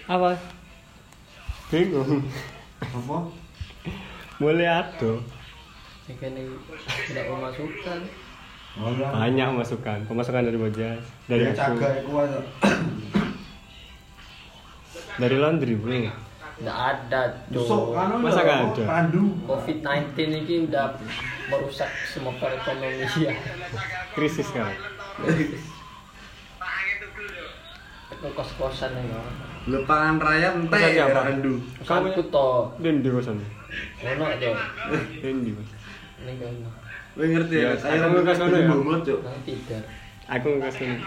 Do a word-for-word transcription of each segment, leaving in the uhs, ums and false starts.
Apa? Bingung. Apa? Mulai ada. Ini tidak memasukkan. Banyak masukan. Pemasukan dari Bojas, dari Ya, aku. cagak iku wae. Dari laundry, Bro. Tidak ada, Besok Cuk. kan Masa nggak ada? Pandu. covid sembilan belas ini udah merusak semua perekonomian. Krisis sekarang. Itu kos-kosan ya. Lepangan raya entek Kosan siapa? Pandu. Kosanku toh. Dan di kosan. Ono aja. Dan di Mas. Ini kan ono. Kowe ngerti Ya, ya? aku ngekas ngono ya. Bomot, Cuk. Nang tidur. Aku nggak kesini.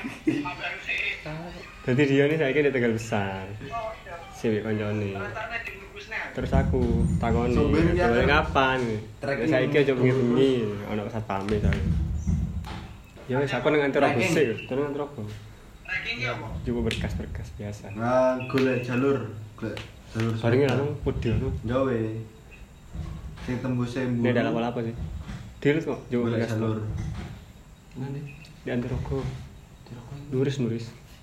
Jadi dia nih saya di Tegal Besar. Siwi koncone. Terus aku takoni, Sumber ya, "Boleh kan? kapan?" Ya saiki aja bengi-bengi ana satpame ta. Ya wis aku nang antar aku sik, terus antar aku. Coba berkas-berkas biasa. Nah, golek jalur, golek jalur. Barengnya langsung pudi ngono. Gawe. Sing tembuse mburu. Dia dalam apa sih? Deal kok, coba Golek berkas jalur. Nanti. di antar aku. Nuris nuris.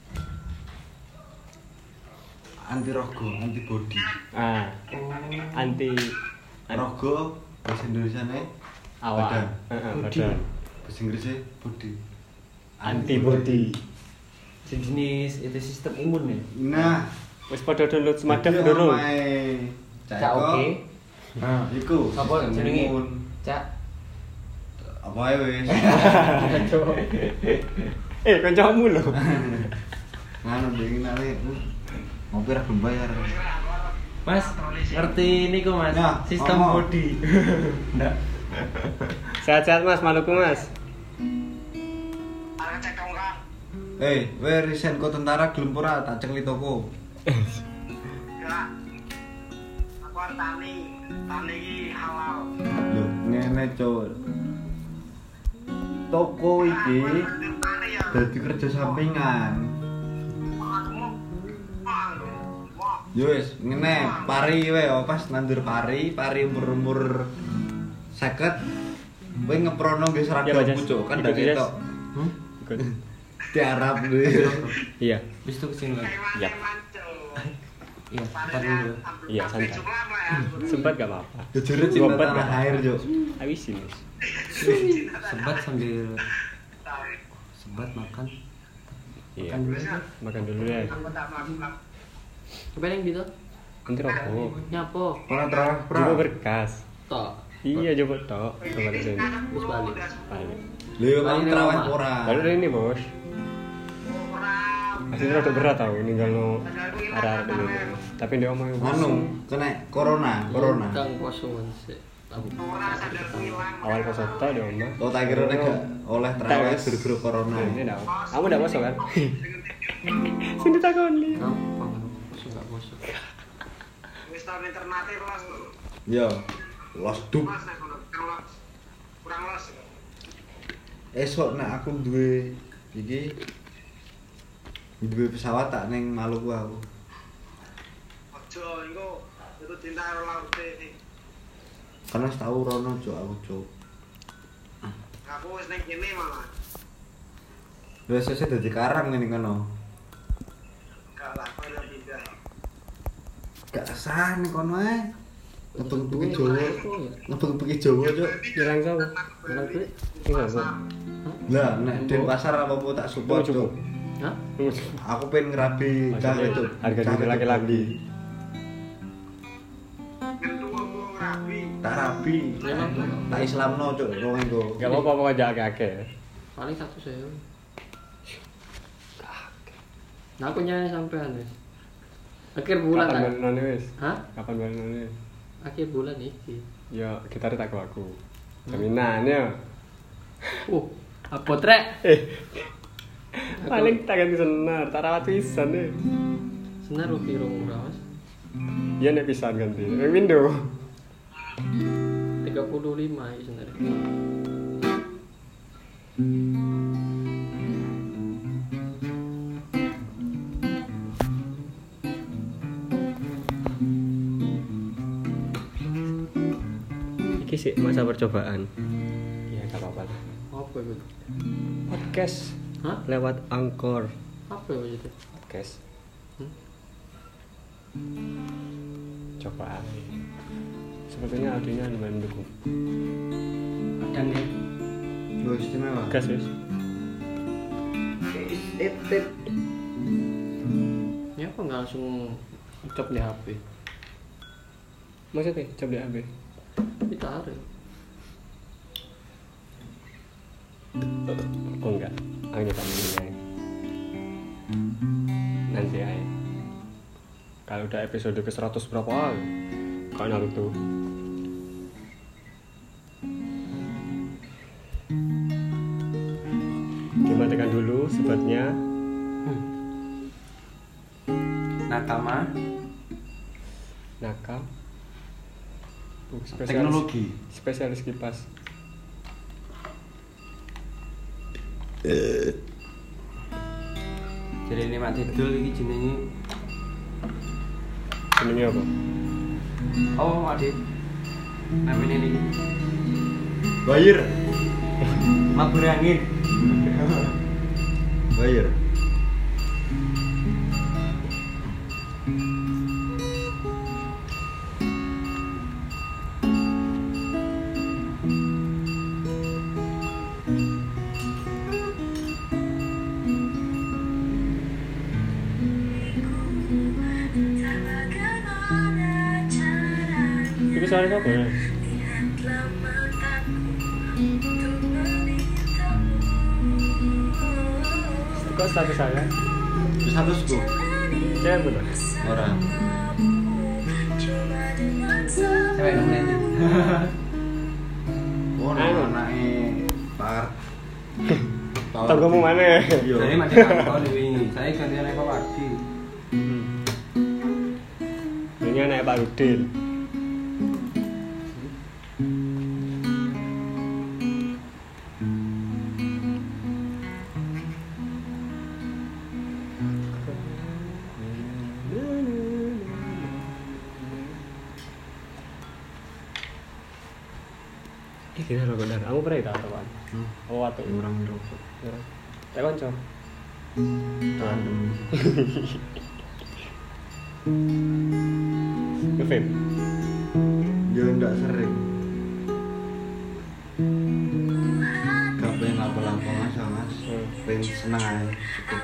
Anti rogo, anti body. Ah, anti Rogo bahasa Indonesiane awak. badan. Heeh, Body. badan. Bahasa Inggrisnya body. Antibody. Sejenis itu sistem imun ya. Nah, Wis padha download Smadaf iki durung? omahe Cak oke. Nah, iku. Apa sistem jenenge? imun. Cak. Apa ae wis. Eh, kancamu lho. Nganu dingin ale. Ngopi ra belum bayar. Mas, ngerti ini kok Mas? Nah, Sistem ngomong. body. Ndak. Sehat-sehat Mas, Maluku Mas. Eh, we resign kok tentara gelem ora tak cengli toko. Enggak. Aku arep tani. Tani iki halal. Lho, ngene, Cuk. Toko iki Tani ya. dadi kerja sampingan. Yo wis, ngene, pari we oh, pas nandur pari, pari umur-umur seket. Kowe ngeprono nggo Ya, seragam Bajas. pucuk kan Ikut, ndak Jas. ketok. Hmm? Ikut. Tiarap lho. Iya. Bis itu kesini lagi. Yap. Iya, ntar dulu. Iya, santai. Sempat gak apa-apa. Jujur cinta Ngobat tanah gak air, apa-apa. Cuk. Habisin. Mas. Sebat sambil sebat makan. Iya. Makan dulu aja. Makan dulu ya. Apa yang gitu? Nanti rokok. Nyapo? Ora terawih pra. Coba berkas. Tok. Iya, coba tok. Coba di sini. Terus balik. Balik. Lho, mang Balik terawih rumah. ora. Lalu dari ini, Bos. Aslinya rada berat tau ninggal no arah-arah ini. Tapi dia omong Anu, kena corona, corona. Kang kosongan sih. Aku. awal peserta dia omong. Oh, tak kira nek gak oleh terawih gara-gara corona. Nah, ini dah. Kamu udah masuk kan? Sini takoni. Gampang. Kosong gak kosong. Wis tahun alternatif los. Yo, los dup. Los nek ono los. Kurang los. Esok nek aku duwe iki duwe pesawat tak ning Maluku aku. Ojo engko itu cinta karo laute. Karena tahu rono cuk aku cuk. Aku wis ning kene malah. Lha sesuk dadi karang ngene kono. Gak lah, kowe udah pindah. Gak sah ning kono ae. Ngebeng-bengi Duit, Jawa. Mas, kok ya? Ngebeng-bengi Jawa cuk. Hilang kau. Bilang duit. Enggak, Bu. Lah nek den pasar apa-apa tak support Tunggu, cuk. Hah? Aku pengen ngerabi cah Maksudnya itu. harga Cah diri itu laki-laki. Bandi. Ngentu aku rapi. Tak rabi. Tak Islamno cuk wong engko. Gak apa-apa pokoknya aja akeh-akeh. Paling satu sewu. Nah, aku nyanyi sampean wis. Akhir bulan Kapan lah. balik noni wis? Hah? Kapan balik noni? Akhir bulan iki. Ya, kita tak ke aku. Jaminan ya. Uh, apa trek? Eh. Paling tak ganti senar, tak rawat pisan deh. Senar rugi rong murah, Mas. Iya nek pisan ganti. Ning window. tiga puluh lima iki senar. Iki sih masa percobaan. Iya, gak apa-apa. Apa itu? Podcast Hah? lewat Anchor. Apa itu? Podcast. Hmm? Coba aja. Sepertinya audionya lumayan mendukung. Dan nih Lo istimewa. Gas wis. It it. ya apa nggak langsung cop di H P? Maksudnya coba di A B. Ditarik. Oh enggak, aku nyoba ini aja. Nanti aja. Kalau udah episode ke seratus berapa? Kayak Naruto. Dimatikan dulu sebabnya. Nakama. Nakam. Uh, spesialis, Teknologi. spesialis kipas. Jadi ini Mak Tidul ini jenenge. Jenenge apa? Oh, Ade. Namanya ini. Bayar. Mabur angin. Bayar. Itu suaranya apa ya? Kok status saya? Statusku. Cewek bener? Orang. Cewek nemen. Oh, Anu. anaknya Pak. Tanggomu mana? Iya. Jadi macam kantor ini. Saya ganti anak Pak Wadi. Ini anak Pak Rudin. Eh, gini loh bener. Aku pernah tak tahu. Oh, waktu Orang rokok. tak konco. Random. Nge-vape. Ya enggak sering. Gak pengen lampu-lampu mas, mas. Hmm. Pengen seneng aja. Cukup.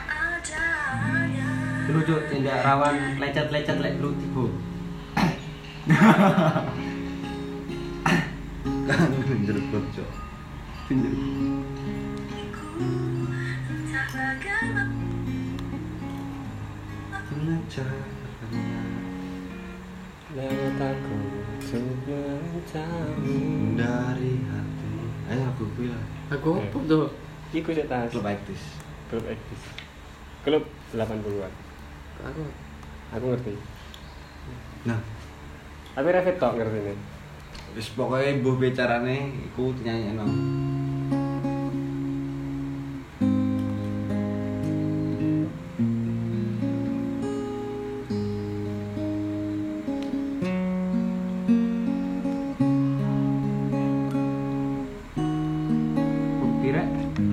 Dulu cuk tindak rawan lecet-lecet lek lu tiba. Kan jerukut cok. Tindak. Mengejarnya Lewat aku untuk mencari. dari hati. Ayo aku bilang. Aku apa tuh? Iku sih tas. Klub aktif. Klub Ektis. Klub delapan puluhan. Aku. Aku ngerti. Nah, Tapi Rafet tok ngerti nih. wis pokoknya mbuh bicarane iku nyanyekno. Pirek.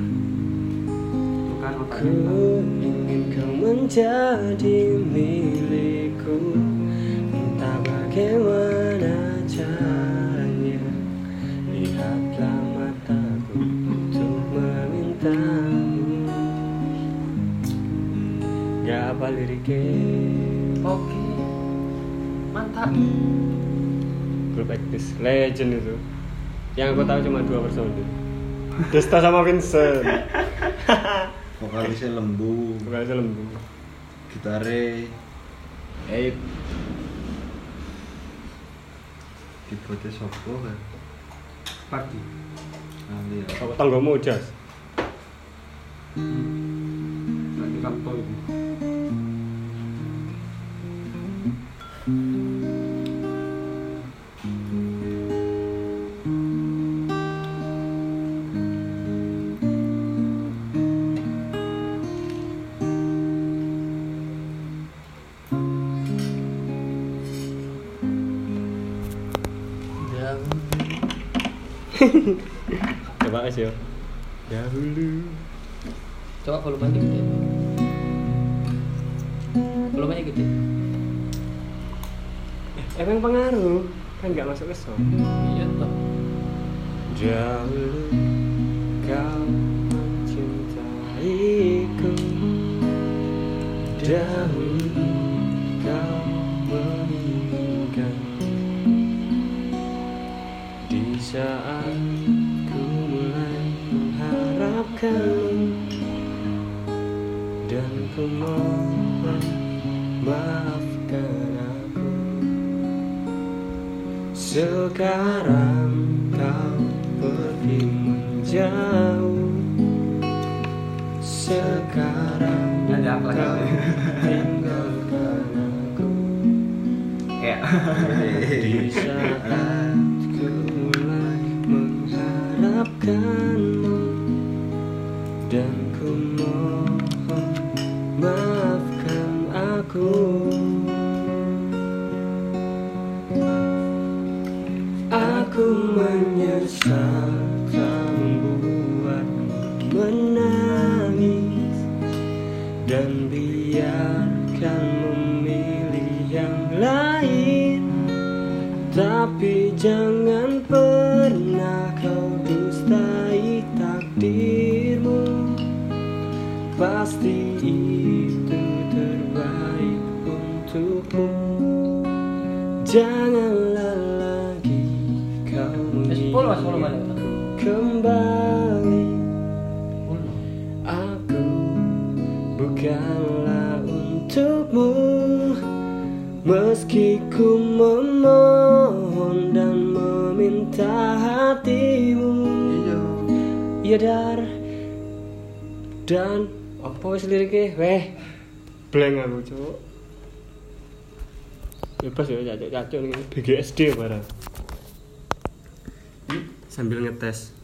Bukan otak. Ku ingin kau menjadi milikku. Entah bagaimana caranya. Lihatlah mataku untuk memintamu. Gak apa liriknya. Oke. Mantap. Grup Ektis legend itu. Yang aku tahu cuma dua personil. Desta sama Vincent. Vokalisnya lembu, Vokalisnya lembu. gitare Ape. Keyboardnya sopo kan? Pagi. Nanti ya. Apa tanggomu Jas? Lagi kantor itu. Coba aja. Dahulu. Coba volumenya gede. Volumenya gede. emang pengaruh kan nggak masuk ke song. Iya toh. Dahulu kau mencintaiku, dahulu kau menginginkan. Di saat ku mulai mengharapkanmu, dan ku mohon maafkan aku. Sekarang kau pergi menjauh, sekarang Ada apa kau lagi? tinggalkan aku. Ya. Di saat ku mulai mengharapkanmu, dan ku mohon maafkan aku. Aku menyesal telah membuatmu menangis, dan biarkan memilih yang lain. Tapi jangan pernah kau dustai takdirmu. Pasti itu terbaik untukmu. Janganlah lagi kau sepuluh mas sepuluh balik. kembali. Aku bukanlah untukmu, meski ku memohon dan meminta hatimu. Iya dar. Dan apa wis lirike? Weh. Blank aku, Cuk. Bebas ya cacuk-cacuk ning B G S D barang. Sambil ngetes.